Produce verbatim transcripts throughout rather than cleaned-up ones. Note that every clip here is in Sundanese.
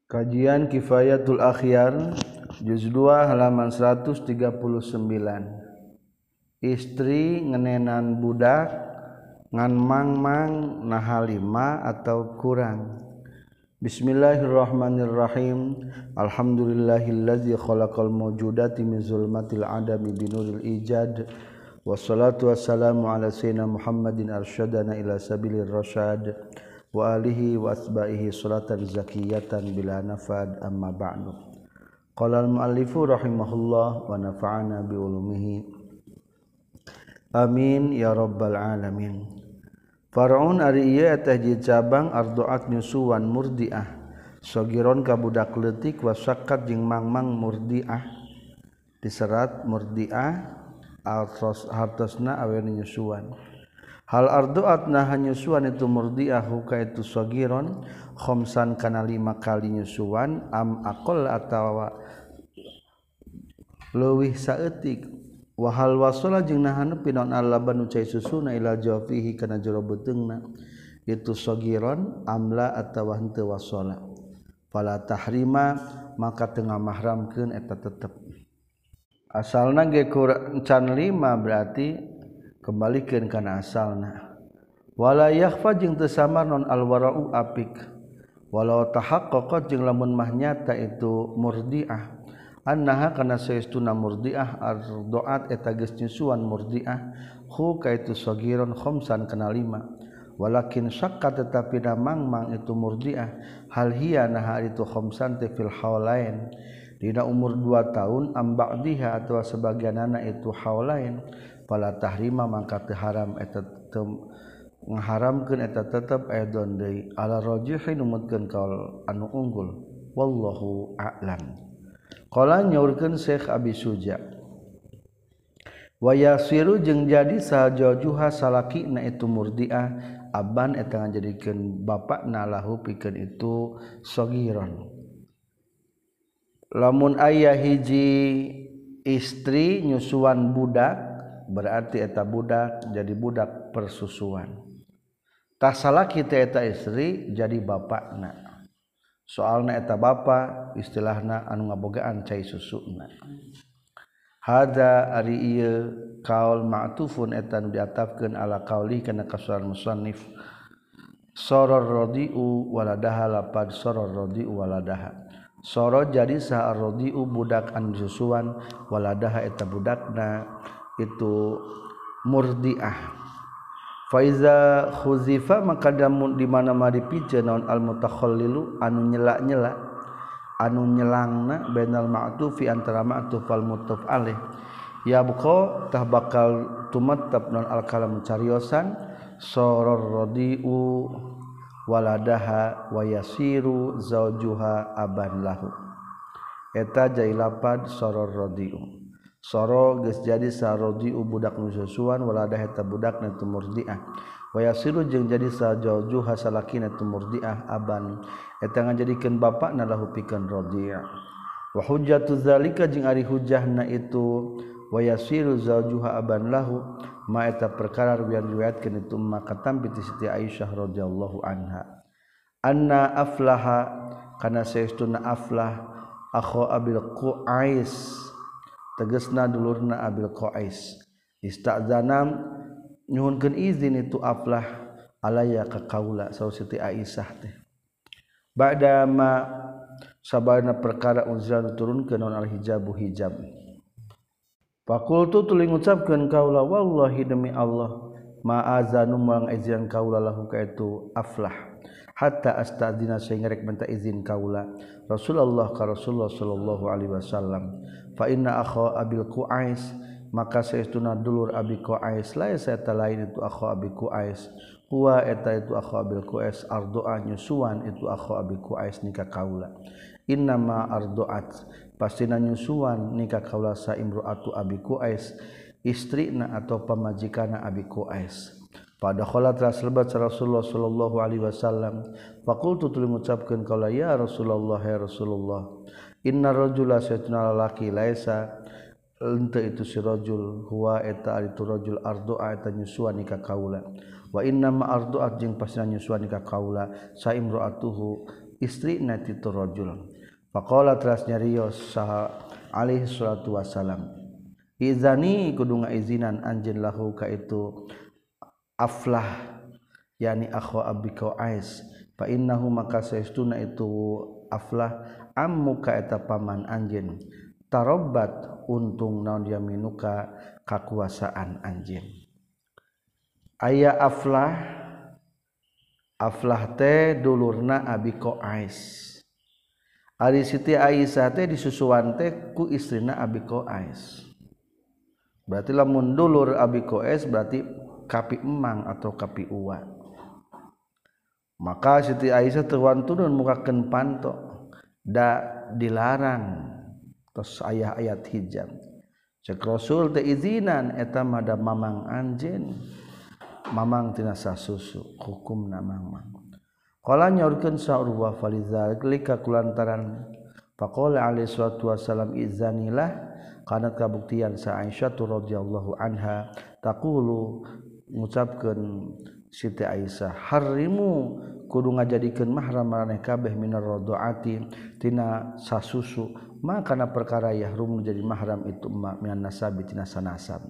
Kajian Kifayatul Akhyar juz dua halaman seratus tiga puluh sembilan. Istri ngenenan budak ngan mang-mang naha lima atau kurang. Bismillahirrahmanirrahim. Alhamdulillahillazi khalaqal mawjudati min zulmatil adami binuril ijad. Wassalatu wassalamu ala sayyidina Muhammadin arsyadana ila sabilir rasyad wa alihi wa asba'ihi salatan zakiyatan bila nafad amma ba'du. Qala al-muallifu rahimahullah wa nafa'ana bi ulumihi amin ya rabbal alamin. Faraun ari ieu eta hiji cabang arduat nyusuan murdiah sogiron ka budak leutik wasakkat jeung mangmang murdiah diserat murdiah hartosna aweun nyusuan. Hal arduat nah nyusuan itu murdiahu ka itu sogiron khamsan kana lima kali nyusuan am aqall atawa leuwih saeutik wa hal wasala jeung nah nepi naon allaban cai susuna ila jawfihi kana jero beuteungna itu sogiron amla atawa henteu wasala fala tahrima maka teu ngamahramkeun eta tetep asalna ge can lima berarti kembalikan kana asalna wala yakhfa jeung teu samar non alwara'u apik walau tahaqqaqat jeung lamun mah nyata itu murdiah annaha kana saestuna murdiah ardoat eta geus nyusuan murdiah hu ka itu sagiron khamsan kana lima walakin syakka tetapi damang-mang itu murdiah hal hiya nah itu khamsan te fil haulain dina umur dua tahun am ba'diha atawa sebagianana itu haulain fala tahrima maka teu haram eta teu ngaharamkeun eta tetep aidon deui ala rajihi numutkeun kaul anu unggul wallahu a'lam. Qala nyaurkeun Syekh Abi Suja wa yasiru jeung jadi sahajuha salakina itu murdiah aban eta ngajadikeun bapakna lahu pikeun itu sagiron. Lamun aya hiji istri nyusuan budak berarti eta budak jadi budak persusuan. Tah salaki teh eta istri jadi bapakna. Soalna eta bapa istilahna anu ngabogaan cai susuna. Hada ari ieu qaul ma'tufun eta nu diatafkeun ala qauli kana kasuran musannif. Soror radiu waladaha lapad soror radiu waladaha. Soro jadi sa radiu budak anu susuan waladaha eta budakna itu murdiah. Faiza khuzifa maka damun di mana-mana dipijeun naon al mutakhallilu anu nyela-nyela anu nyelangna bainal ma'tufi antara ma'tuf wal mutaf alaih ya buqa tah bakal tumattab naon al kalam cariosan soror radiu waladaha wa yasiru zaujuha aban lahu eta jailapad soror radiu. Soro geus jadi sarodiu budak nu susuan waladah eta budakna tu murdiah wa yasiru jeung jadi sajaujuha salakina tu murdiah aban eta ngajadikeun bapakna lahu pikeun radiah wa hujjatu zalika jeung ari hujjahna itu wa yasiru zaujuha aban lahu ma eta perkara riwayatkeun itu maka tampi ti Siti Aisyah radhiyallahu anha anna aflaha kana saestuna aflah akhu abil qais tegasna dulurna Abil Qais istazanam nyuhunkeun izin itu aflah alaya ka kaula saur Siti Aisyah teh ba'da ma sabarna perkara unzila turunkeun naon al hijabu hijab faqultu tuluy ngucapkeun kaula wallahi demi Allah ma azanu moal izin kaula lahu ka itu aflah hatta astadzina sehingga rek minta izin kaula Rasulullah ka Rasulullah sallallahu alaihi wasallam fa inna akha abil qais maka saestuna dulur abi qais la eta lain itu akha abi qais huwa eta itu akha abil qais ardoa nyusuan itu akha abi qais nikah kaula innama ardoat pastina nyusuan nikah kaula sa imroatu abi qais istrina atau pamajikanna abi qais pada khalat rasulullah Rasulullah sallallahu alaihi wasallam faqultu tuluy ngucapkeun kaula ya Rasulullah ya Rasulullah inna rajula saytuna lalaki laisa henteu itu si rajul huwa eta itu rajul ardu'a eta nyusuan nikah kaula wa inna ma ardu'at jeung pasina nyusuan nikah kaula sa imro'atuhu istri na ti rajul faqala teras nyarios saha alaihi salatu wasalam izani kudu ngaizinan anjeun lahu ka itu Aflah yani akhu Abi Qais fa innahu maka saestuna itu Aflah ammu ka eta paman anjeun tarabbat untung naon yaminuka kakuasaan anjeun aya Aflah Aflah teh dulurna Abi Qais ari Siti Aisyah teh disusuan teh ku istrina Abi Qais berarti lamun dulur Abi Qais berarti kapi emang atau kapi uwa maka Siti Aisyah tuan turun mukakeun panto da dilarang tos aya ayat hijab cek Rasul teh izinan eta mah da mamang anjeun mamang tina sasusu hukumna mamang qala nyaurkeun sa Urwah falizalika kulantaran faqala alaihi salatu wasalam izanilah kana kabuktian sa Aisyah radhiyallahu anha taqulu ngucapkeun Siti Aisyah harimu kudu ngajadikeun mahram maraneh kabeh minar radhaati tina sasusu maka kana perkara yahrum jadi mahram itu minan nasabi tina sanasab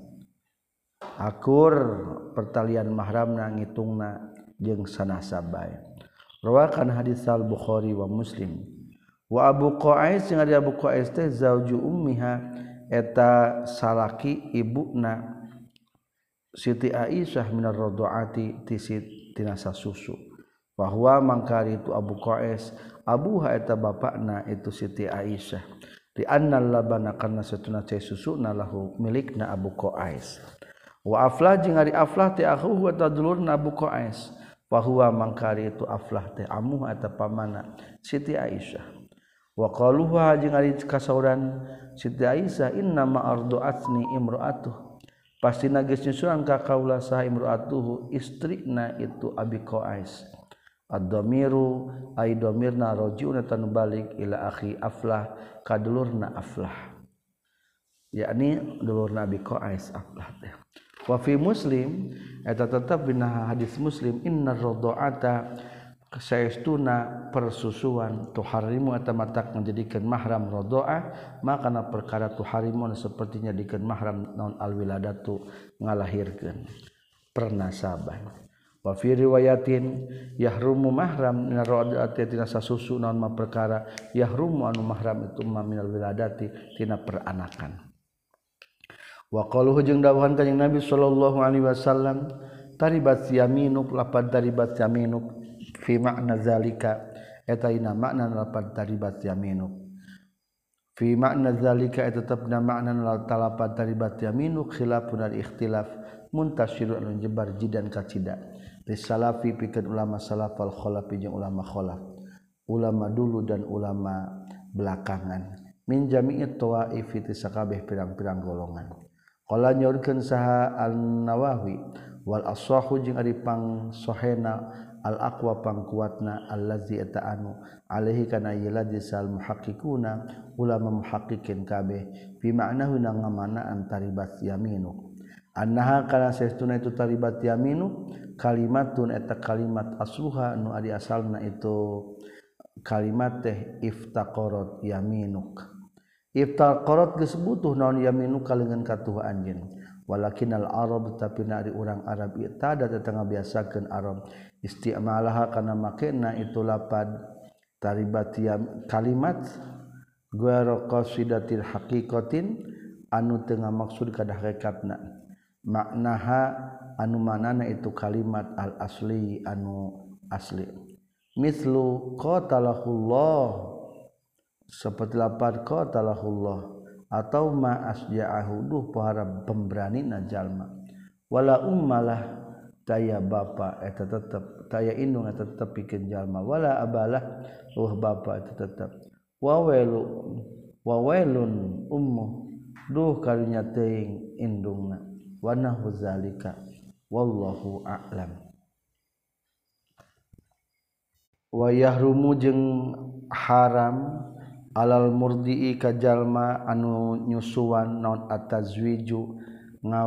akur pertalian mahramna ngitungna jeung sanasab bae rawakan hadis al Bukhari wa Muslim wa Abu Qais jeung ari Abu Qais teh zauju ummiha eta salaki ibuna Siti Aisyah minar radhaati tina sasusu bahwa mangkari itu Abu Qais abuha eta bapakna itu Siti Aisyah di annal labana kana satuna cai susuna lahu milikna Abu Qais wa Aflah jeung ari Aflah teh akhuhu eta dulurna Abu Qais bahwa mangkari itu Aflah teh amuh eta pamana Siti Aisyah wa qaluha jeung ari kasauran Siti Aisyah inna ma ardu'atni imra'atuh pasti geus nyusuan ka kaula saha imra'atuhu istrina itu Abi Qais ad-dhamiru ay dhamirna raji'un tan balik ila akhi Aflah ka dulurna Aflah yakni dulurna Abi Qais Aflah teh wa fi Muslim eta tetep dina hadis Muslim innar radha'ata saestuna persusuan tuharimu eta matak menjadikan mahram radha'ah maka na perkara tuharimu sepertinya dikeun mahram naon alwiladatu ngalahirkeun pernasaban wa fi riwayatin yahrumu mahram min radha'ati tina sasusu naon ma perkara yahrumu anu mahram itu ma minal wiladati tina peranakan wa qaluhu jeung dawuhan kanjing Nabi sallallahu alaihi wasallam taribat yaminuk lapad taribat yaminuk fi makna zalika eta ina makna lapad taribat yaminuk fi makna zalika eta tetepna makna lapad taribat yaminuk khilafun al ikhtilaf muntashirun anu jebar jidan kacida risalafi pikeun ulama salaf wal khalaf jeung ulama khalaf ulama dulu dan ulama belakangan min jami'i tawaif ti sakabeh pirang-pirang golongan qala nyaurkeun saha an-Nawawi wal ashahu jeung ari pang sahena al aqwa pangkuatna allazi eta anu alaihi kana yaladi sal muhaqqiquna ulama muhaqqiqin kabeh bi ma'nahu na ngamanaan taribat yaminu annaha kana saestuna itu taribat yaminu kalimatun eta kalimat asluha anu ari asalna itu kalimat teh iftaqarat yaminuk iftaqarat geus butuh naon yaminuk kalengan katuh anjeun walakinal arab tapi nari urang Arab itada tetangga biasakeun Arab istimalaha kana makena itu lapad taribat kalimat guara qasidatil haqiqatin anu teu ngamaksud kada hakikatna maknaha anu manana itu kalimat al asli anu asli mislu qatalahullah seperti lapad qatalahullah atau ma asja'ahu duh pohara pemberanina jalma wala ummalah taya bapa eta tetep taya indung eta tetep pikeun jalma wala abalah uh bapa eta tetep wawailu wawailun ummu duh karunya teuing indungna wa nahu zalika wallahu a'lam wa yahrumu jeung haram alal murdi'i ka jalma anu nyusuan naon atazwiju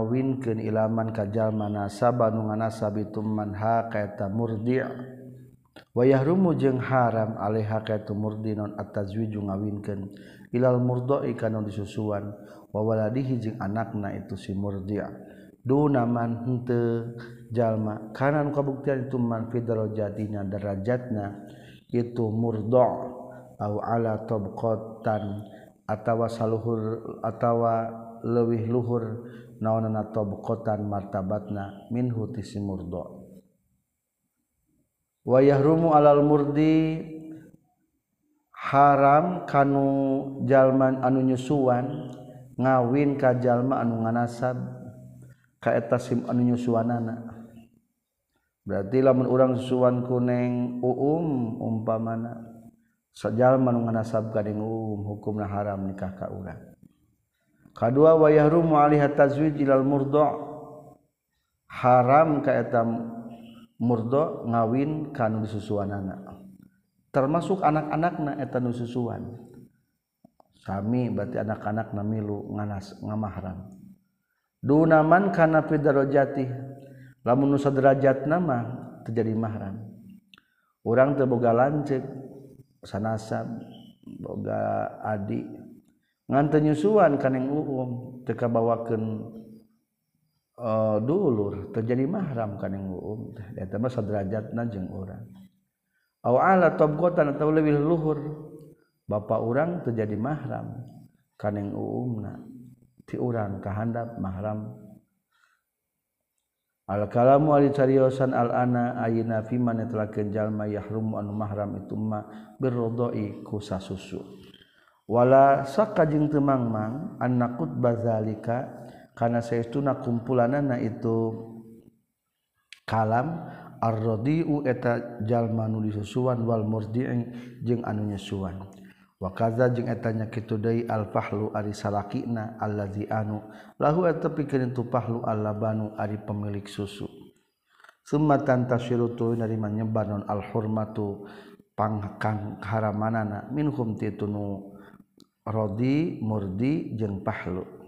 ngawinkeun ilaman ka jalma nasaba nu nganasab itu manha ka eta murdi' wa yahrumu jeung haram alaiha ka itu murdi non at-tazwiju ngawinkeun ilal murdoi kana disusuan wa waladihi jeung anakna itu si murdi' duna man henteu jalma kana nu kabuktian itu man fi darajatinya derajatna itu murdo' au ala tabqatan atawa saluhur atawa leuwih luhur naonana tabqatan martabatna minhu ti si murdo' wa yahrumu alal murdi haram kanu jalma anu nyusuan ngawin ka jalma anu nganasab ka eta sim anu nyusuanana berarti lamun urang susuan ku neng uum umpamana sajalma anu nganasab ka neng uum hukumna haram nikah ka urang kadua wa yahrumu alaiha tazwij ilal murdo' haram ka eta murdo ngawin kanu disusuanana termasuk anak-anakna eta nu susuan sami berarti anak-anakna milu nganas ngamahram dunaman kana fi darajati lamun nu saderajatna mah terjadi mahram urang teu boga lanceuk sanasab boga adik ngan teu nyusuan kaneng uum teu kabawakeun Uh, dulur terjadi mahram kaneng uum eta mah saderajatna jeung urang au ala tabqatan atawa leuwih luhur bapa urang terjadi mahram kaneng uumna ti urang kahandap mahram al kalamu ali cariosan al ana ayina fi man telakeun jalma yahrum anu mahram itu ma birrodoi ku sasusu wala sakka jeung teu mangmang annaqut bazalika kana saestuna kumpulanana itu kalam ar-radiu eta jalma nu disusuan wal murdi'i jeung anu nyusuan wa kaza jeung eta nya kitu deui al fahlu ari salakina allazi anu lahu eta pikeun tu fahlu allabanu ari pemilik susu summa tantashiru tu narima nyebar non al hurmatu pangkang haramanana minhum ti tunu radi murdi jeung fahlu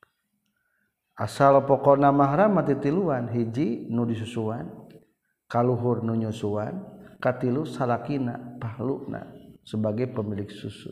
asal pokona mahram mati tiluan hiji nu disusuan kaluhur nu nyusuan katilu salakina pahluna sebagai pemilik susu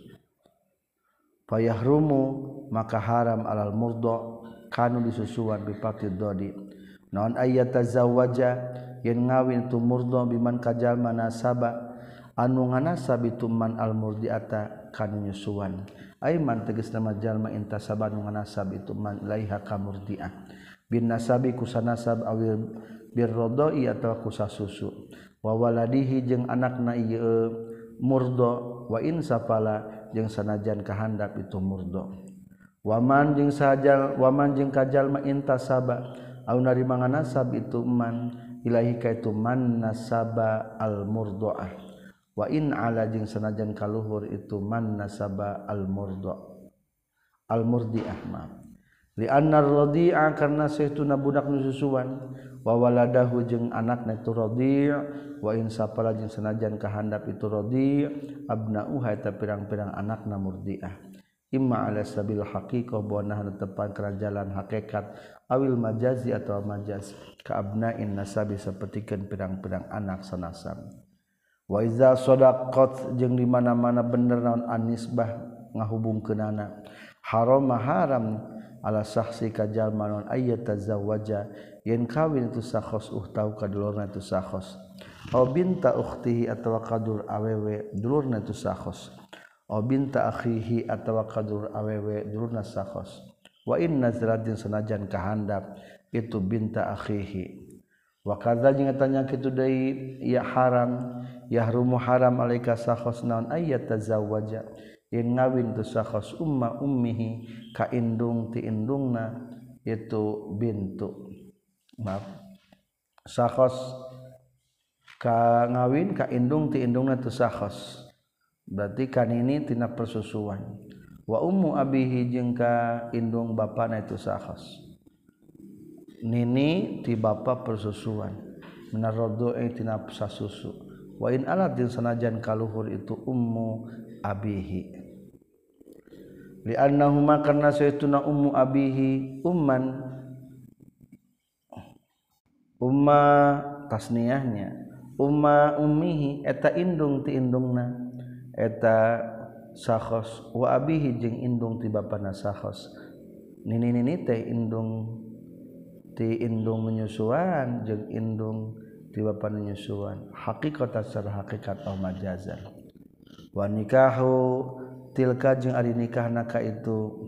fayahrumu maka haram alal murdo kanu disusuan bipati dodi naon ayata zawaja yen ngawin tu murdo biman kajalma nasaba anu nganasab itu man al murdiata kanu nyusuan aiman tegas nama jalma intasaba nu nganasab itu man ilaiha ka murdiah bin nasabi kusanasab awil birrodoi atawa kusasusu wa waladihi jeung anakna ieu murdo wa in safala jeung sanajan kahandap itu murdo waman jeung sajal waman jeung kajalma intasaba au narima nganasab itu man ilaihi ka itu man nasaba al murdoah wa in ala jeung sanajan kaluhur itu man nasaba al murdo al murdiah ma li anna radi'a karna saestuna budak nu susuan wa waladahu jeung anakna itu radi' wa in sapala jeung sanajan kahandap itu radi' abnauha eta pirang-pirang anakna murdiah imma ala sabil haqiqah bonah tepan kerajalan hakikat awil majazi atau majaz ka abna'in nasabi sapertikeun pirang-pirang anak sanasab wa iza shadaqat jeung di mana-mana bener naon anisbah ngahubungkeunana haram haram ala saksi ka jalma naon ayyata zawaja yen kawin itu sakhos uhtau ka dulurna itu sakhos aw binta ukhtihi atawa kadur awewe dulurna itu sakhos aw binta akhihi atawa kadur awewe dulurna sakhos wa in nazalat jeung sanajan kahandap itu binta akhihi wa kadza jeung eta nya kitu deui ya haram yahrumu haram alaika sakhos naon ayat tazawwaja yen ngawin tu sakhos umma ummihi ka indung ti indungna itu bintu maaf sakhos ka ngawin ka indung ti indungna tu sakhos berarti kan ini tina persusuan wa ummu abihi jeung ka indung bapana itu sakhos nini ti bapa persusuan minarodoi tina sasusu wa in alat din sanajan kaluhur itu ummu abihi li annahuma karna saytuna ummu abihi umman umma tasniyahnya umma ummihi eta indung ti indungna eta sakhos wa abihi jeung indung ti bapana sakhos nini-nini teh indung ti indung menyusuan jeung indung ti bapana nyusuan haqiqatan secara hakikat au majazan wa nikahu tilka jeung ari nikahna ka itu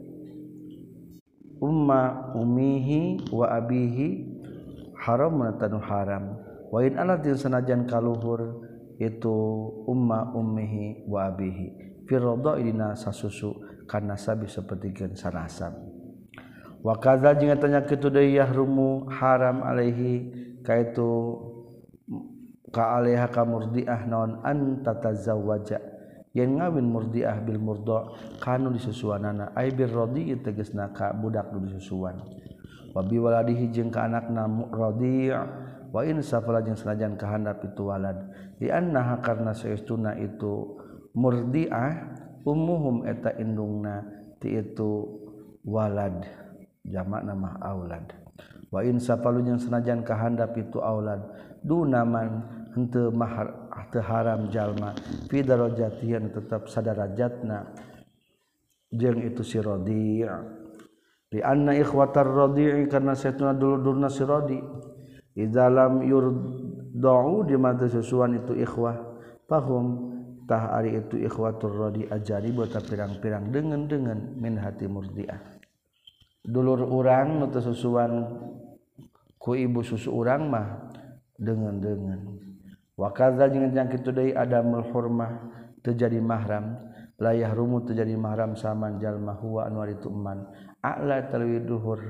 umma ummihi wa abihi haram tanu haram wa in alatil sanajan kaluhur itu umma ummihi wa abihi fi radha'ina sasusu kana sabi sapertikeun sanasab wa kadza jeung tanya kitu deui yahrumu haram alaihi kaitu ka alaiha ka murdiah naon an tatazawwaja yen ngawin murdiah bil murda kanu disusuanana ai bir radi tegasna ka budak nu disusuan wa bi waladihi jeung ka anakna radi' wa in safala jeung sanajan kahandap itu walad di annaha karna saestuna itu murdiah ummuhum eta indungna ti itu walad jamakna mah aulad wa in safalu jeung sanajan kahandap itu aulad dunaman henteu mahar teu haram jalma fi darajatihi tetap sadarajatna jeung itu si radi' li anna ikhwatar radi' karna saestuna dulur-dulurna si radi' idza lam yurda'u di mata susuan itu ikhwah fahum tah ari itu ikhwatur radi ajari buat pirang-pirang dengan-dengan min hati murdiah dulur urang nu teu susuan ku ibu susu urang mah dengan-dengan wa kadza jeung kitu deui adamul hurmah teu jadi mahram la yahrumu teu jadi mahram saman jalma huwa anu ari tu eman a'la talwi duhur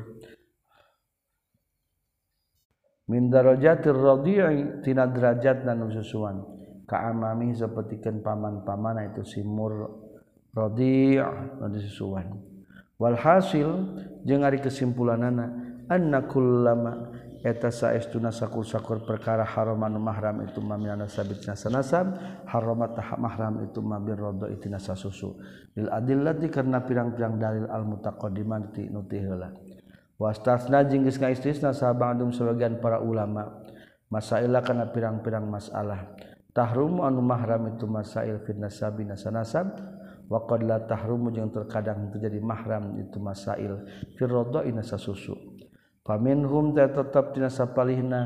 min darajatir radi'i tina derajatna nu susuan ka amami sapertikeun paman-pamana itu si mur radi' nu disusuan wal hasil jeung ari kesimpulanana anna kullama eta saestuna sakur-sakur perkara haram anu mahram itu mamina sabitna sanasab haramat mahram itu mabir radha itina sasusu lil adillati karna pirang-pirang dalil al mutaqaddimati nu ti heula wastasna jeung geus ngaistisna sabadum sebagian para ulama masailah kana pirang-pirang masalah tahrum anu mahram itu masail fil nasabi nasanasab wa qad la tahrumu jeung terkadang terjadi mahram itu masail fil radha'ina sasusu faminhum tetap tina sapalihna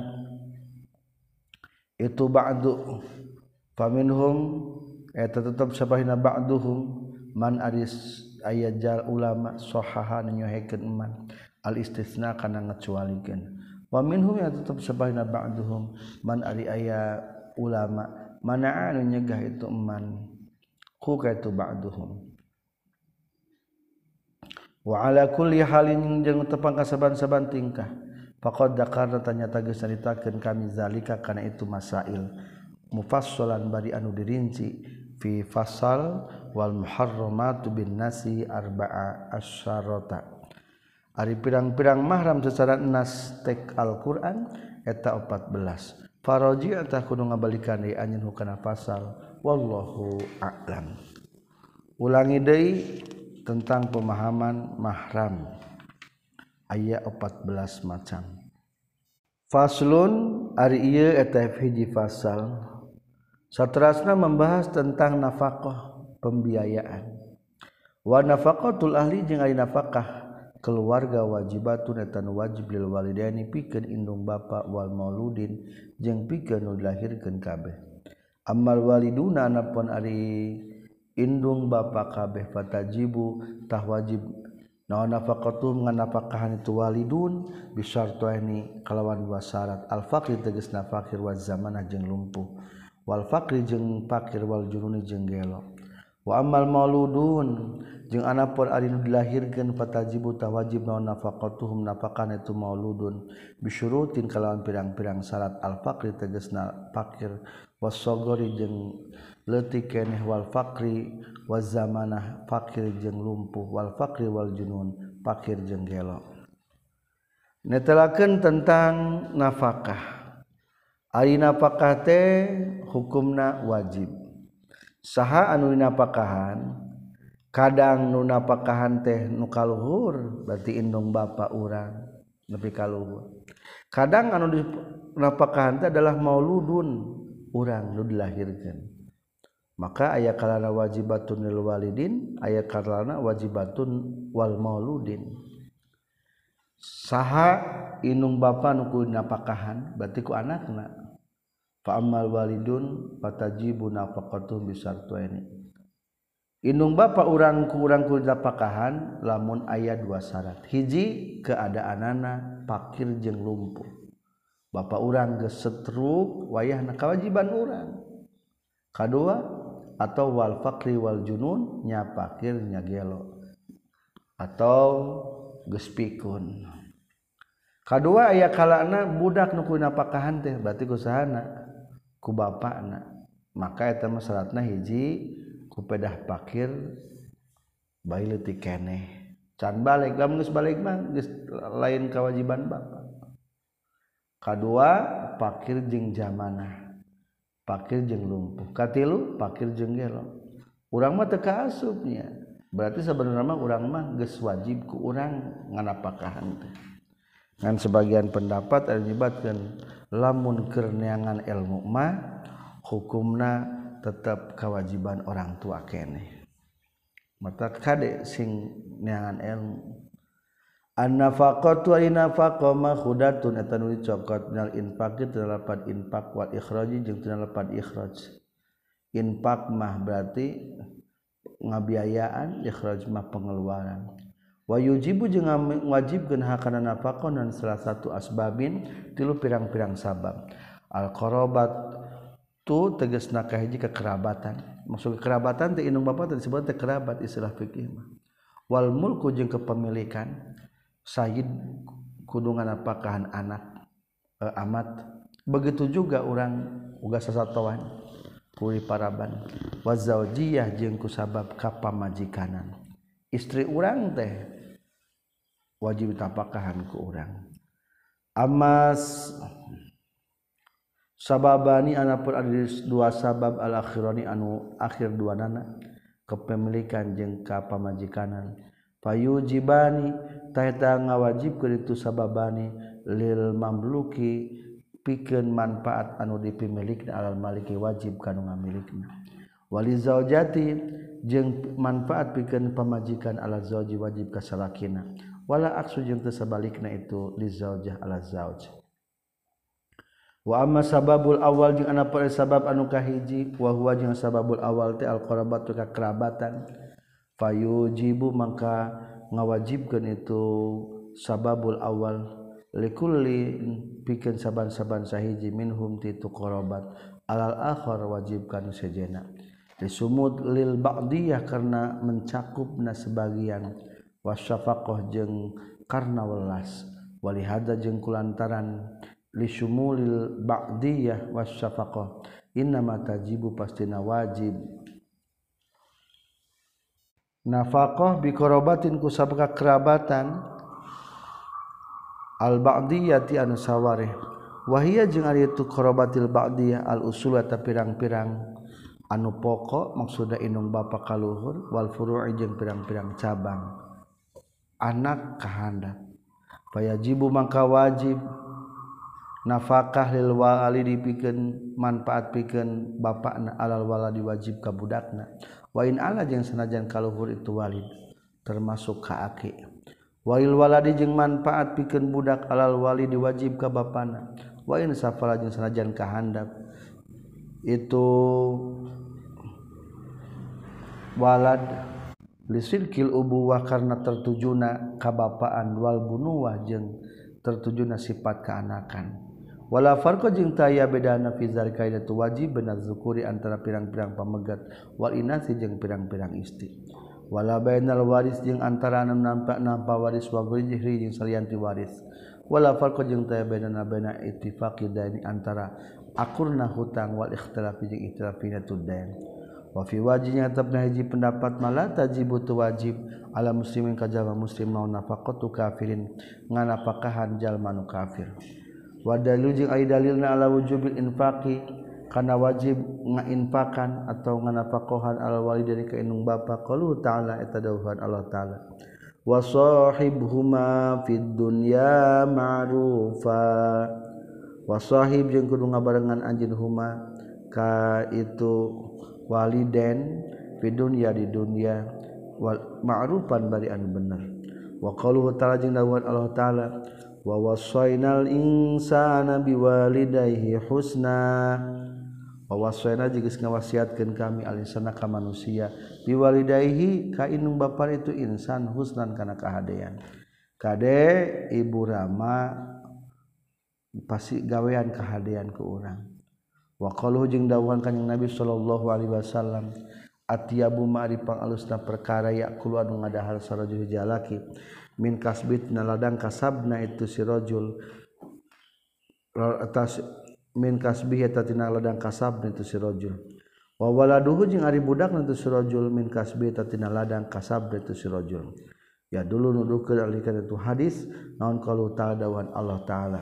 itu ba'du faminhum eta tetap sapalihna ba'duhum man aris ayajal ulama sahaha nyohekeun man al istisna kana ngacualikeun wa minhum ya tetep sabahna ba'duhum man ari aya ulama mana anu nyegah itu eman ku ka itu ba'duhum wa ala kulli halin jeung tepang kasaban-saban tingkah faqad dakarna tanyata geus caritakeun kami zalika kana itu masail mufassalan bari anu dirinci fi fasal wal muharramatu bin nasi arba'a asyarata ari pirang-pirang mahram secara nas tek Al-Qur'an eta empat belas faraji atah kudu ngabalikan deui anjeun hukana pasal wallahu a'lam ulangi deui tentang pemahaman mahram aya empat belas macam faslun ari ieu eta hiji fasal saterasna membahas tentang nafaqah pembiayaan wa nafaqatul ahli jeung ari nafaqah keluarga wajibatun eta nu wajib lil walidaini pikeun indung bapa wal mauludin jeung pikeun nu dilahirkeun kabeh ammal waliduna anapun ari indung bapa kabeh fatajibu tah wajib naon nafaqatum nganafaqahan itu walidun bisyartaini kalawan dua syarat al faqir tegasna fakir wa zamanah jeung lumpuh wal faqri jeung fakir wal jununi jeung gelo wa ammal mauludun jeung anapun ari nu dilahirkeun fatajibu tah wajib naon nafaqatuhum nafaqan itu mauludun bisyurutin kalawan pirang-pirang syarat al faqri tegasna fakir wasogori jeung leutik keneh wal faqri waz zamanah fakir jeung lumpuh wal faqri wal junun fakir jeung gelo netelakeun tentang nafaqah ari nafaqah teh hukumna wajib saha anu dinapakahan kadang nu napakahan teh nu kaluhur berarti indung bapa urang nepi kaluhur kadang anu dinapakahan teh adalah mauludun urang nu dilahirkeun maka aya kalana wajibatun lil walidin aya kalana wajibatun wal mauludin saha inung bapa nu kudu napakahan berarti ku anakna fa ammal walidun fatajibu nafaqatuhum bisartuaini inung bapa urang ku urang kudu napakahan lamun aya dua syarat hiji keadaanana pakir jeung lumpuh bapa urang geus setruk wayahna kawajiban urang kadua atau wal fakri wal junun nya pakir nya gelo atau geus pikun kadua aya kalana budak nu kudu napakahan teh berarti ku sahana ku bapana maka eta mah syaratna hiji ku pedah pakir bae leutik keneh can balik lamun geus balik mah geus lain kewajiban bapa kadua pakir jeung zamanah pakir jeung lumpuh katilu pakir jeung gelo urang mah teu kaasupnya berarti sabenerna mah urang mah geus wajib ku urang nganapakahan teh ngan sebagian pendapat anu nyebatkeun lamun keur neangan ilmu mah hukumna tetep kewajiban orang tua keneh mata kade sing neangan ilmu an-nafaqatu an-nafaqah makhudatun eta nu dicokot minal infaq teu lapan infaq wal ikhraji jeung teu lapan ikhraj infaq mah berarti ngabiayaan ikhraj mah pengeluaran wa yujibu jeung ngawajibkeun hakana nafaqah dan salah satu asbabin tilu pirang-pirang sabab al qarabat tu tegasna kahiji kekerabatan maksud kekerabatan teh indung bapa teh disebut teh kerabat istilah fikih mah wal mulku jeung kepemilikan Sayyid kudu nganapakahan anak e, amat begitu juga orang uga sasatoan kuli paraban wa zaujiyah jeung kusabab kapamajikanan istri urang teh wajib tapakahan ku urang amas sababani anapun ada dua sabab al akhirani anu akhir duanana kepemilikan jeung kapamajikanan fayujibani taeta ngawajibkeun itu sababani lil mamluki pikeun manfaat anu dipimilikna alal maliki wajib kanu ngamilikna wali zaujati jeung manfaat pikeun pamajikan ala zauji wajib ka salakina wala aksu jeung teu sabalikna itu li zaujah ala zauj wa amma sababul awal jeung anapun sabab anu kahiji wa huwa jeung sababul awal teh al qarabatu ka kerabatan fayujibu maka ngawajibkeun itu sababul awal likulli pikeun saban-saban sahiji minhum ti tu qarabat alal akhar wajibkan sejenna disumud lil ba'diyah karena mencakupna sebagian wasyafaqah jeung karna welas walihada jeung kulantaran lisumulil ba'diyah wasyafaqah innama tajibu pastina wajib nafaqah bi qarabatin ku sabab kerabatan al ba'diyati anu sawareh wahia jeung ari itu qarabatil ba'diyah al usul ta pirang-pirang anu pokok maksudna indung bapa kaluhur wal furu'i jeung pirang-pirang cabang anak kahandap fayajibu maka wajib nafaqah lil walidi pikeun manfaat pikeun bapana alal waladi wajib ka budakna wa in ala jeung sanajan kaluhur itu walid termasuk ka aki walil waladi jeung manfaat pikeun budak alal walidi wajib ka bapana wa in safala jeung sanajan ka handap itu walad lisilkil ubuwah karena tertujuna kabapaan wal bunuwah jeung tertujuna sifat keanakan wala farqa jeung taya bedana fi zalika itu wajib benar zukuri antara pirang-pirang pamegat wal inasi jeung pirang-pirang istri wala bainal waris jeung antara anu nampa-nampa waris wa ghairi jeung salianti waris wala farqa jeung taya bedana baina ittifaqi daini antara akurna hutang wal ikhtilafi jeung ikhtilafina tudain wa fi wajibnya tabna hiji pendapat mala tajibu tu wajib ala muslimin kajaba muslim mau nafaqatu kafirin nganapakahan jalma nu kafir wa dalil jeung ai dalilna ala wujubil infaqi kana wajib ngainfakan atau nganafaqahan al walidayni ka indung bapa qalu ta'ala eta dawuhan Allah taala wa shahibhuma fid dunya ma'rufa wa shahib jeung kudu ngabarengan anjeun huma ka itu waliden fid dunya di dunya wal ma'rufan bari anu bener wa qaluhu ta'ala jeung dawuh Allah taala wa wassaynal insana biwalidayhi husna wa wasayna jeung geus ngawasiatkeun kami al insana ka manusia biwalidayhi ka indung bapa itu insan husnan kana kahadean kade ibu rama pasti gawean kahadean ke urang wa qalu jeung dawuhan kanjing Nabi sallallahu alaihi wasallam atiyabu ma'ri pangalusna perkara yaqulu anu ngadahar sarajul jalaki min kasbit naladang kasabna itu si rajul atas min kasbih eta tina ladang kasab itu si rajul wa waladuhu jeung ari budakna itu si rajul min kasbih eta tina ladang kasab itu si rajul ya dulu nuduhkeun alikeun itu hadis naon qalu ta'ala dawan Allah taala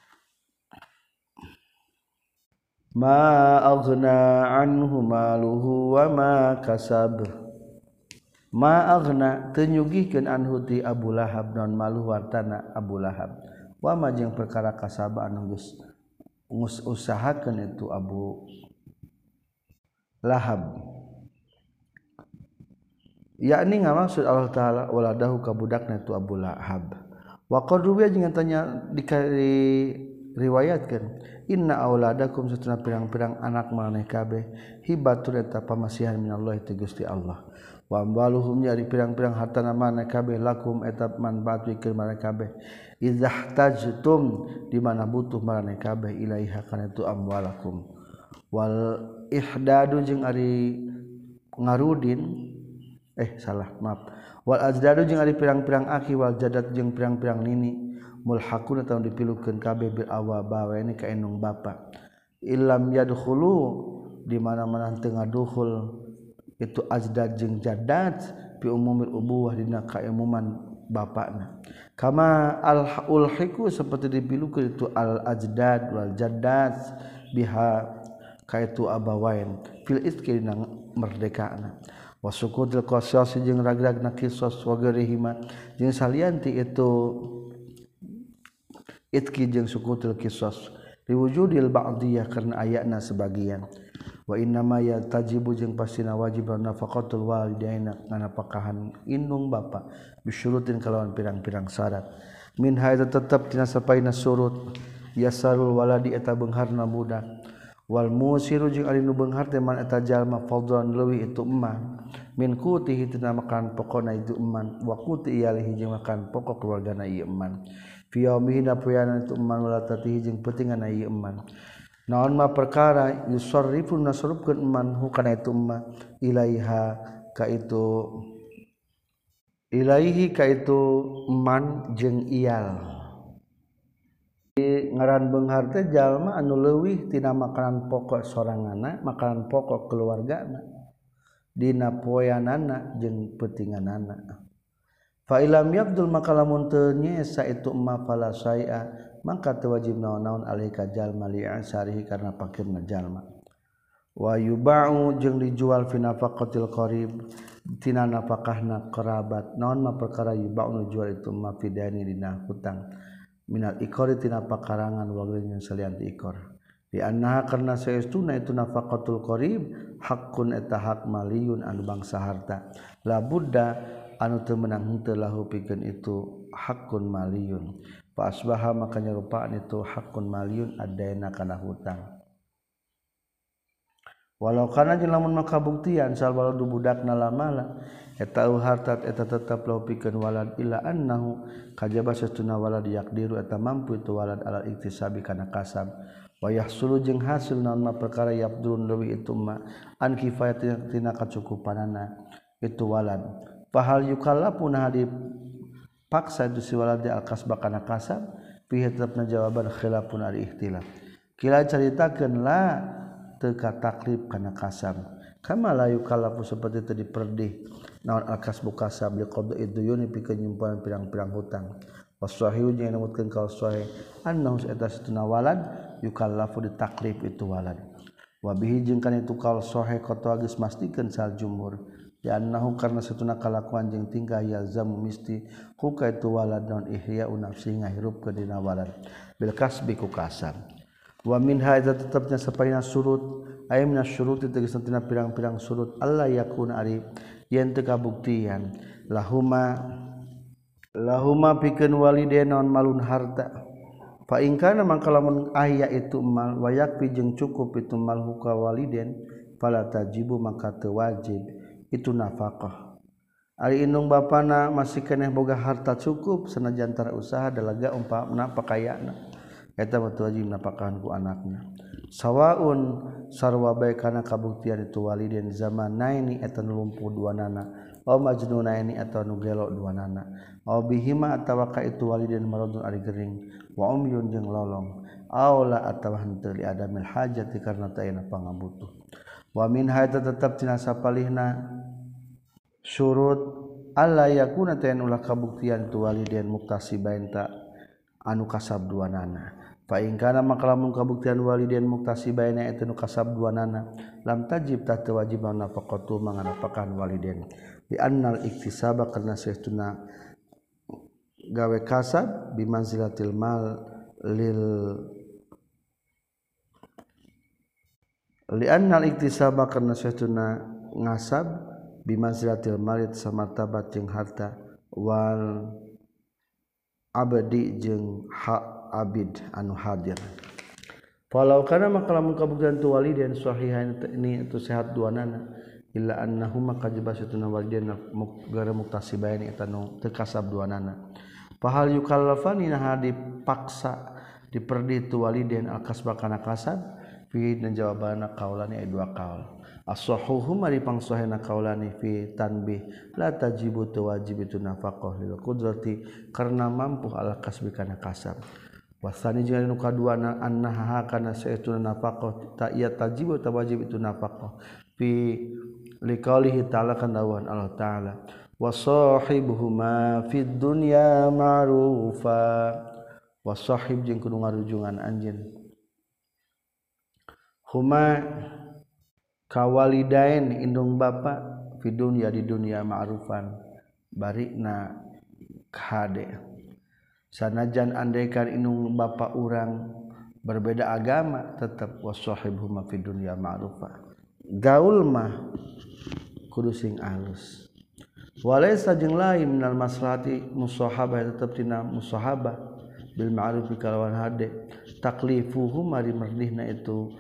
ma aghna anhu maluhu wa ma kasab ma aghna teu nyugihkeun anhu ti Abu Lahab naon maluhu hartana Abu Lahab wa ma jeung perkara kasab anu geus usahakan itu Abu Lahab yakni ngamaksud Allah taala waladahu ka budakna itu Abu Lahab wa qadruya jeung tanya diriwayatkeun inna auladakum satuna pirang-pirang anak maneh kabeh hibatul eta pamasihan minallah ti Gusti Allah wa amwaluhum jadi pirang-pirang hartana maneh kabeh lakum eta manfaat pikeun maneh kabeh idzah tajtum di mana butuh marane kabeh ilaiha kana itu amwalakum wal ihdadu jeung ari ngarudin eh salah maaf wal ajdadu jeung ari pirang-pirang aki wal jadat jeung pirang-pirang nini mulhaqun ataun dipilukeun kabeh bil awaba ini ka enung bapa illam yadkhulu di mana-mana teu ngaduhul itu ajdad jeung jadat fi umumil ubuwah dina kaumuman bapakna kama al ulhiku seperti dipilukeun itu al ajdad wal jaddat biha kaitu abawain fil iski dina merdekana wasukutul qasas jeung ragragna qisas wa garihima jeung salianti itu itki jeung sukutul qisas liwujudil ba'diyah karena ayatna sebagian wa inna ma yatajibu jeung pastina wajib nafaqatul walidaina kana pakahan indung bapa bisyurutin kalawan pirang-pirang syarat min haita tetep tina sapaina surut yasarul waladi eta beungharna budak wal musiru jeung ari nu beunghar teh man eta jalma fadlan leuwih itu emman min qutihi tina makan pokona itu emman wa quti iyalihi jeung makan pokok keluargana ieu emman fi yaumihi napoyana itu emman wala tatihi jeung peutingana ieu emman naon ma perkara yusarrifu nasrubkeun emman hu kana itu emma ilaiha ka itu ilaihi ka itu emman jeung iyal ngaran beunghar teh jalma anu leuwih tina makanan pokok soranganna makanan pokok keluargana dina poeanana jeung peutinganana fa ilam yabdul maka lamun teu nyesa itu emma fala syai'a maka teu wajib naon-naon alika jalma li asarihi karena pakirna jalma wa yuba'u jeung dijual fi nafaqatil qarib tina nafaqahna kerabat naon ma perkara yuba'u dijual itu emma fidani dina hutang minal ikori tina pakarangan wageunya salian ti ikor di annaha karna saestuna itu nafaqatul qarib haqqun eta hak maliyun anu bangsa harta la budda anu teu meunang henteu lahu pikeun itu haqqun maliyun fa asbaha maka nyarupaan itu haqqun maliyun adaina kana hutang walau kana jeung lamun makabuktian sal waladu budakna lamala eta harta eta tetep lahu pikeun walad illa annahu kajaba satuna walad yaqdiru eta mampu itu walad alal iktisabi kana kasab wa yahsulu jeung hasil naon ma perkara yabdurun leuwih itu ma an kifayatina tina kacukupanana itu walad fahal yukallafu nah dipaksa itu si walad al kasba kana kasab fi tetepna jawaban khilafun al ikhtilaf kila caritakeun la teu ka taklif kana kasab kama la yukallafu seperti teu diperdih naon al-kasbu kasab liqadhi duyuni pikeun nyimpan pirang-pirang hutang wasahihu jeung numutkeun ka sahih annahu eta satuna walad yukallafu ditaklif itu walad wa bihi jeung kana itu kal sahih qata geus mastikeun sal jumhur ya annahu karna satuna kalakuan jeung tingkah yalzamu misti huka itu walad non ihya nafsi ngahirup ke dina walad bil kasbi ku kasab wa minha idza tetapnya sapaina surut aya minas syurut tegasna tina pirang-pirang surut Allah yakuna ari yen teu kabuktian lahuma lahuma pikeun walidain naon malun harta fa in kana mangka lamun aya itu mal wayak pi jeung cukup itu mal huka walidain fala tajibu maka teu wajib itu nafaqah ari indung bapana masih keneh boga harta cukup sanajan tara usaha dalaga umpamana pakayana eta mah wajib nafaqahan ku anakna sawaun sarwa bae kana kabuktian itu walidain zamanaini eta lumpuh duanana aw majnunaini eta nu gelo duanana aw bihima atawa ka itu walidain maradun ari gering wa umyun jeung lolong aw la atawa henteu li adamil hajati karna teu aya pangabutuh wa min hadza tetep tina sapalihna syurut alla yakuna ta'an ulah kabuktian tu walidain muktasibain ta anu kasab duanana fa in kana maka lamun kabuktian walidain muktasibain eta nu kasab duanana lam tajib ta teu wajib nafaqatu manganapakan walidain di annal iktisaba karna saestuna gawe kasab bimanzilatil mal lil li annal iktisaba karna saestuna ngasab bimanzilatil malit samartabat jeung harta wal abdi jeung hak abid anu hadir falau kana maka lamun kabuktian tu walidain sahihain ini itu sehat duanana illa annahuma kajibasatuna walidain gara muktasibain eta nu teu kasab duanana fahal yukallafani nah dipaksa diperdi tu walidain al-kasba kana kasab fi dan jawabana qaulani aya dua qaul as-sahuhu mari pangsahena qaulani fi tanbih la tajibu tu wajib itu nafaqah lil qudrati karena mampu ala kasbi kana kasab wasani jeung anu kaduana annaha kana saestuna nafaqah ta iya tajibu ta wajib itu nafaqah fi liqaulihi ta'ala kan dawan Allah ta'ala wasahibuhuma fid dunya ma'rufa wasahib jeung kudu ngarujungan anjeun huma kawalidain indung bapa fi dunya di dunya ma'rufan barina kade sanajan andaikan indung bapa urang berbeda agama tetap wasahibhuma fi dunya ma'rufa gaul mah kudu sing alus walaysa jeung lain minal maslahati musahabah tetap tina musahabah bil ma'ruf kalawan hade taklifuhum mari merdihna itu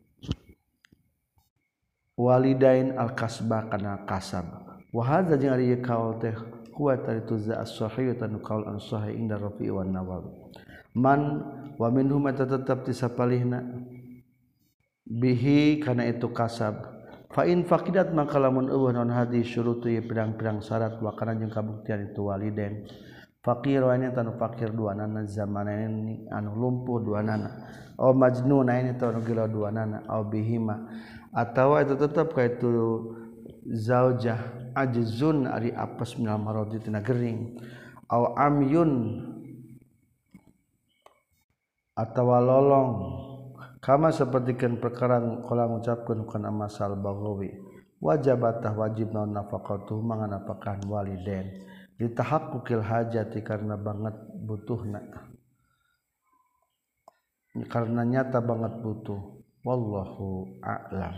walidain al-kasba kana kasab wa hadza jeung ari kaul teh kuat itu za as-sahih tanu kaul an-sahih inda Rafi' wan Nawawi man wa minhum tetap tisapalihna bihi kana itu kasab fa in faqidat maka lamun eueuh naon hadi syurutu pirang-pirang syarat wa kana jeung kabuktian itu walidain faqir wa ini tanu fakir duanana zamanan anu lumpuh duanana aw majnun ini tanu gila duanana aw bihima atawa itu tetap ka itu zaujah ajzun ari apes minal maradi tina gering aw amyun atawa lolong kama sapertikeun perkara kala ngucapkeun kana masal Baghawi wajabatah wajib naon nafaqatuh manganapakan walidain ditahaqquqil hajati karena banget butuhna karena nyata banget butuh wallahu a'lam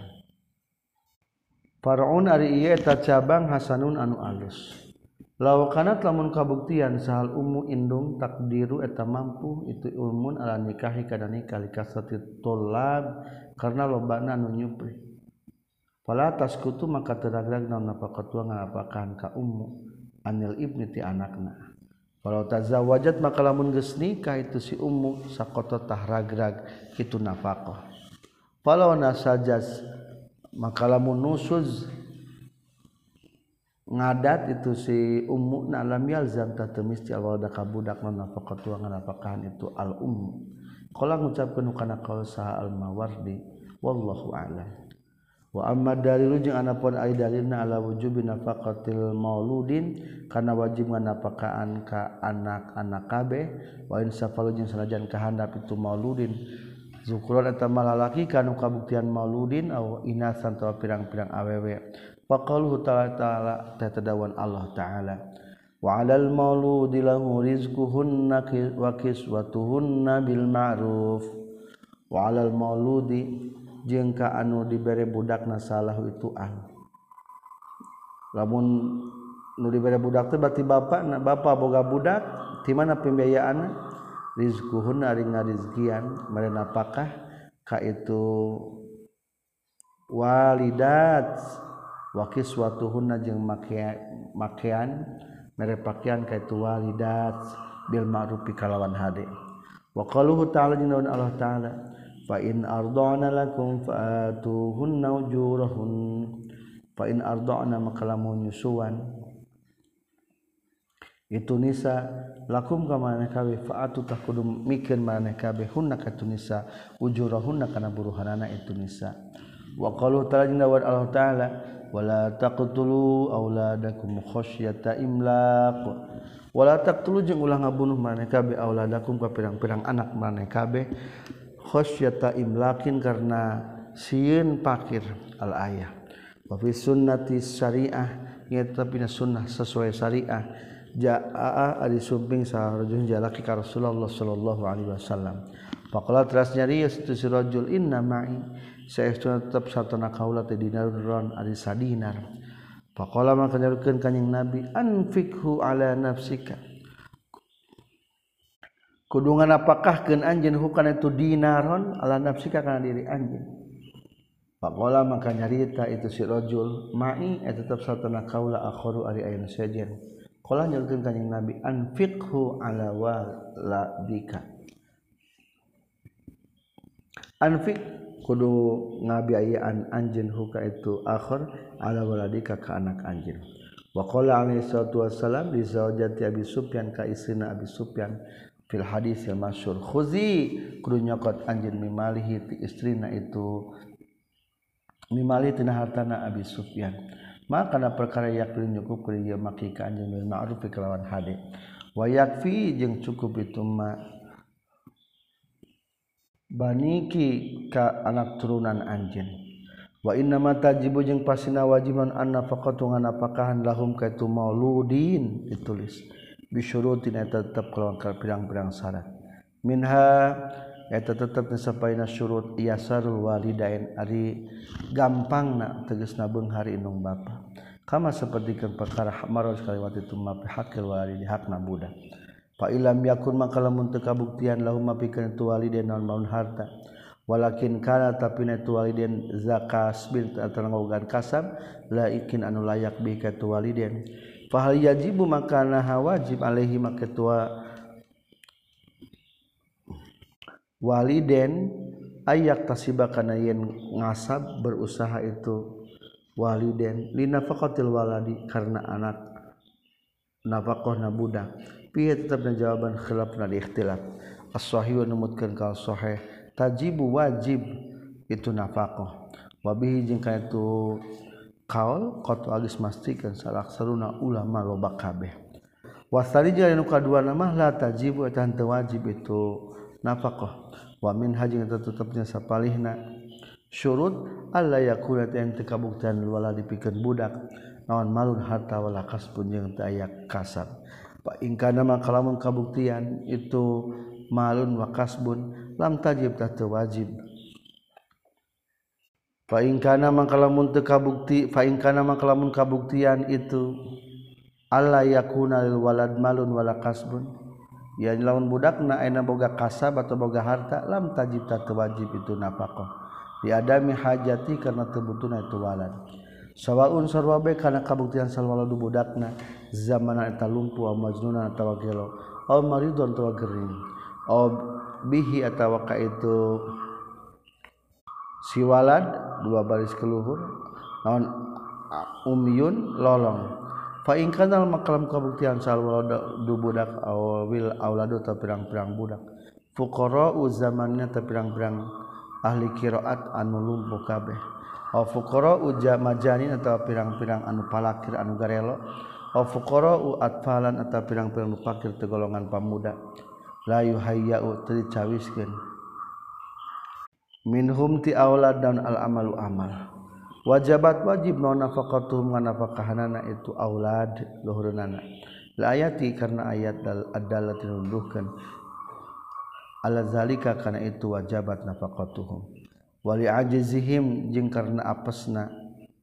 far'un ari ieu eta cabang hasanun anu alus law kanat lamun kabuktian sahal ummu indung takdiru eta mampu itu ulmun ala nikahi kana nikah likasati tullab karena lobana anu nyupri fala taskutu maka teragrag naon nafaqatu ngapakahan ka ummu anil ibni ti anakna walau tazawajat maka lamun geus nikah itu si ummu saqata tahragrag kitu nafaqah falau nasajas maka lamun nusuz ngadat itu si ummu na lam yalzam tatamisti alwalada ka budak non nafaqatu nganapakahan itu al ummu qala ngucapkeun kana qaul saha al mawardi wallahu a'lam wa amma dalilu jeung anapun aya dalilna ala wujubi nafaqatil mauludin kana wajib nganapakahan ka anak-anak kabeh wa in safalu jeung sanajan kahandap itu mauludin zukuran eta malalaki kanu kabuktian mauludin aw inasan tawa pirang-pirang awewe wa qauluhu ta'ala tatadawan Allah taala wa 'alal mauludi lahu rizquhunna wa kiswatuhunna bil ma'ruf wa 'alal mauludi jeung ka anu dibere budakna salahu itu an lamun nu dibere budak teh berarti bapana bapa boga budak di mana pembiayaanna rizquhunna ari ngarizkian mere napakah ka itu walidat wa kiswatuhunna jeung makean mere pakaian ka itu walidat bil ma'ruf kalawan hade wa qaluhu ta'ala jinnaun Allah ta'ala fa in arda'na lakum fa'atuhunna ujurahun fa in arda'na maka lamun nyusuan itu nisa lakum ka maneh kabeh fa'atu tah kudu mikeun maneh kabeh hunna ka tu nisa ujurahunna kana buruhanana itu nisa wa qalu ta'ala Allah ta'ala wala taqtulu auladakum khasyata imlaq wala taqtulu jeung ulah ngabunuh maneh kabeh auladakum ka pirang-pirang anak maneh kabeh khasyata imlaqin karena sieun pakir al ayah wa fi sunnati syariah nya tapi sunnah sesuai syariah jaa ari sumping sarajul jalaki ka Rasulullah sallallahu alaihi wasallam faqala teras nyarios tu si rajul inna ma'i saestuna tetep satana kaula teh dinaron ari sadinar faqala maka nyarukeun kanjing nabi anfikhu ala nafsika kudu nganapakahkeun anjeun hukana itu dinaron ala nafsika kana diri anjeun faqala maka nyarita itu si rajul ma'i tetep satana kaula akharu ari aya sajen qala nyarukeun kanjing nabi anfiqhu ala waladika anfiq kudu ngabiayaan anjeun huka itu akhir ala waladika ka anak anjeun wa qala alaihi salatu wassalam li zaujati Abi Sufyan ka istrina Abi Sufyan fil hadis yang masyhur khuzi kudu nyokot anjeun mimalihi ti istrina itu mimali tina hartana Abi Sufyan maka kana perkara yakfi nyukup ku ieu maki ka anjeun bil ma'ruf kelawan hade wa yakfi jeung cukup itu ma baniki ka anak turunan anjeun wa inna ma tajibu jeung pasina wajiban anna faqatu nganapakahan lahum ka itu mauludin ditulis bisyurutin eta tetep kalawan pirang-pirang syarat minha eta tetep sapaina syurut yasarul walidain ari gampangna tegasna beunghar indung bapa kama sapertikeun perkara maros kaliwat itu mapi hakil walidi hakna budak fa ilam yakun maka lamun teu kabuktian lahum mapikeun itu walidain naon maun harta walakin kana tapina itu walidain zakas bil atangogan kasab la ikin anu layak bi ka itu walidain fa hal yajibu maka nah wajib alaihi maka tua waliden ayak tasibakana yen ngasab berusaha itu waliden linafaqatil waladi karena anak nafaqahna budak piye tetapna jawaban khilafna di ikhtilaf as-sahih numutkeun ka sahih tajibu wajib itu nafaqah wa bihi jeung ka itu qaul qatu agis mastikeun salaksaruna ulama loba kabeh wasali jeung anu kaduana mah la tajibu eta teu wajib itu nafaqah wa min hajing tetepnya sapalihna syurut alla yakuna yang tekabuktian wala dipikeun budak naon malun harta wala kasbun jeung teu aya kasab fa in kana maka lamun kabuktian itu malun wa kasbun lam tajib teu wajib fa in kana maka lamun teu kabukti fa in kana maka lamun kabuktian itu alla yakuna lil walad malun wala kasbun ya lawan budakna ayeuna boga kasab atau boga harta lam tajib tatu wajib itu nafaqah di adami hajati karena teu butuhna itu walad sawaun sarwa bae kana kabuktian salwaladu budakna zamanan eta lumpuh au majnunan atawa gelo au maridun atawa gering au bihi atawa ka itu si walad dua baris keluhur naon umyun lolong fa in kana makalam kabuktian sal waladu budak awil auladu ta pirang-pirang budak fuqara zamanna ta pirang-pirang ahli qiraat anu lumpuh kabeh aw fuqara majani atawa pirang-pirang anu palakir anu garelo aw fuqara atfalan atawa pirang-pirang anu fakir teu golongan pamuda la yuhayyau teu dicawiskeun minhum ti aulad dan al amalu amal wajabat wajib naon nafaqatuhum nafaqahanana itu aulad luhurna la ayati karena ayat dal adalah tinunduhkeun ala zalika kana itu wajabat nafaqatuhum wali ajzihim jeung karena apesna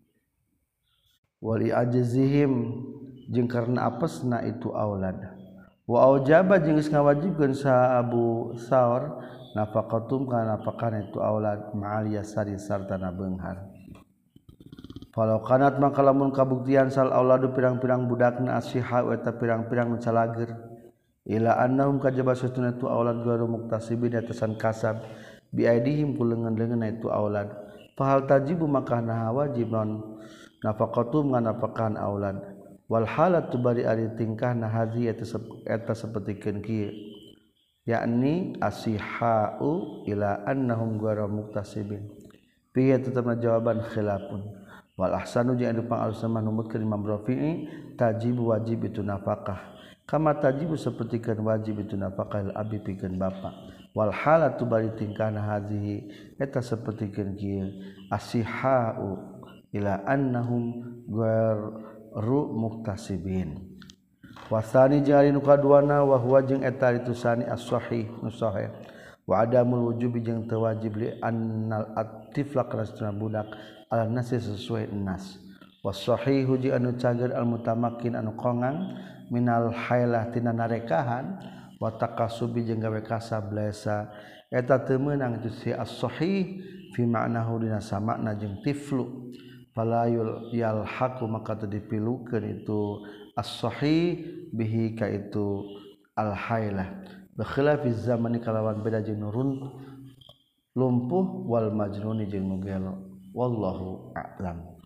wali ajzihim jeung karena apesna itu aulad wa aujaba jeung geus ngawajibkeun sa Abu Saur nafaqatum kana nafaqana itu aulad ma'al yasari sartana beunghar. Falau kanat maka lamun kabuktian sal auladu pirang-pirang budakna asyiha eta pirang-pirang nu calager ila annahum kajaba satuna tu aulad garu muktasibin atasan kasab bi aidihim kuleungeun-leungeun itu aulad fahal tajibu maka nah wajib non nafaqatum ngana nafaqan aulad wal halatu bari ari tingkahna hazi eta eta sapertikeun kieu yakni asihau ila annahum garu muktasibin fi tetapna jawaban khilafun wal ahsanu jeung anu pangalus mah numutkeun Imam Rafi'i tajibu wajib itu nafkah kama tajibu sapertikeun wajib itu nafkah al abi pikeun bapa wal halatu bari tingkahna hazihi eta sapertikeun kieu asihau ila annahum ghairu muktasibin wasani jeung nu kaduana wa huwa jeung eta itu sani as-sahih nu sahih wa adamul wujubi jeung teu wajib li annal atifla karasna budak ala nasi sesuai nas wasahihu ji anu cager al mutamakin anu kongang minal hailah tina narekahan wa takasubi jeung gawe kasab laisa eta teu meunang itu si as-sahih fi ma'nahu dina samakna jeung tiflu falayul yalhaqu maka teu dipilukeun itu as-sahih bihi ka itu al hailah bikhilafi zamani kalawan beda jeung nurun lumpuh wal majnuni jeung nu gelo wallahu a'lam.